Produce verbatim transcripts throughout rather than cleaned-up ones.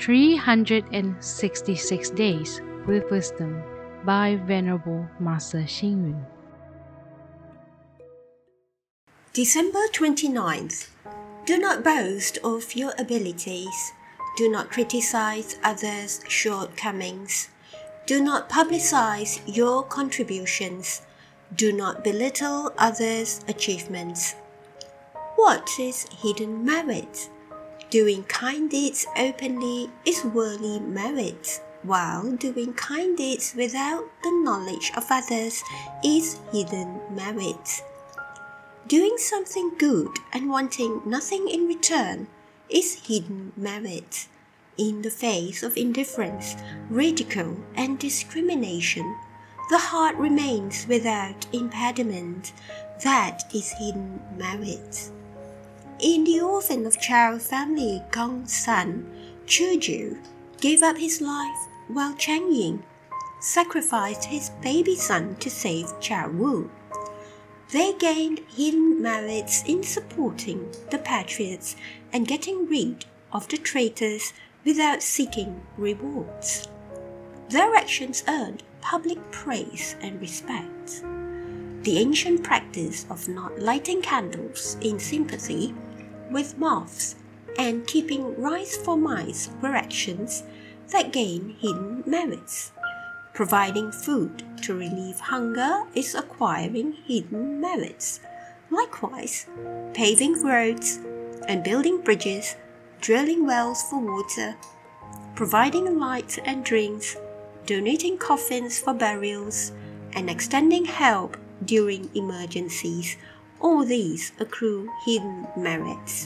three hundred sixty-six Days with Wisdom by Venerable Master Xing Yun. December twenty-ninth. Do not boast of your abilities. Do not criticize others' shortcomings. Do not publicize your contributions. Do not belittle others' achievements. What is hidden merit? Doing kind deeds openly is worldly merit, while doing kind deeds without the knowledge of others is hidden merit. Doing something good and wanting nothing in return is hidden merit. In the face of indifference, ridicule, and discrimination, the heart remains without impediment. That is hidden merit. In The Orphan of Chao family Gong's son, Chu gave up his life while Chang Ying sacrificed his baby son to save Chao Wu. They gained hidden merits in supporting the patriots and getting rid of the traitors without seeking rewards. Their actions earned public praise and respect. The ancient practice of not lighting candles in sympathy with moths and keeping rice for mice were actions that gain hidden merits. Providing food to relieve hunger is acquiring hidden merits. Likewise, paving roads and building bridges, drilling wells for water, providing light and drinks, donating coffins for burials, and extending help during emergencies, all these accrue hidden merits.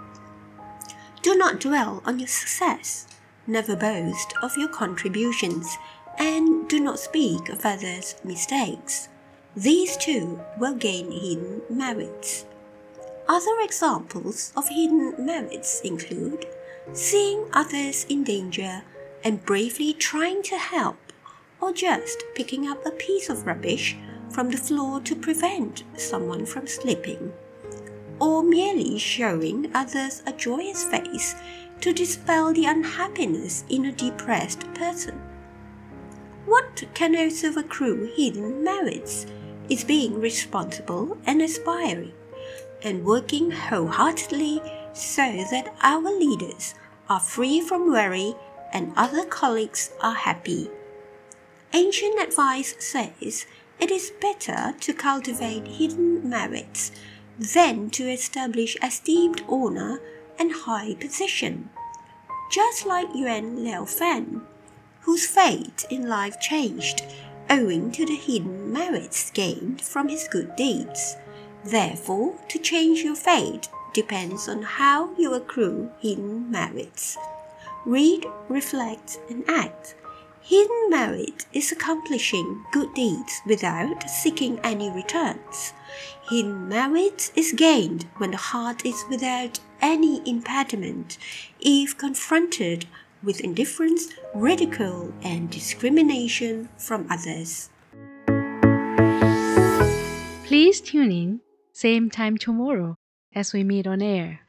Do not dwell on your success. Never boast of your contributions, and do not speak of others' mistakes. These too will gain hidden merits. Other examples of hidden merits include seeing others in danger and bravely trying to help, or just picking up a piece of rubbish from the floor to prevent someone from slipping, or merely showing others a joyous face to dispel the unhappiness in a depressed person. What can also accrue hidden merits is being responsible and aspiring, and working wholeheartedly so that our leaders are free from worry and other colleagues are happy. Ancient advice says it is better to cultivate hidden merits than to establish esteemed honor and high position. Just like Yuan Liaofan, whose fate in life changed owing to the hidden merits gained from his good deeds. Therefore, to change your fate depends on how you accrue hidden merits. Read, reflect, and act. Hidden merit is accomplishing good deeds without seeking any returns. Hidden merit is gained when the heart is without any impediment, if confronted with indifference, ridicule, and discrimination from others. Please tune in, same time tomorrow as we meet on air.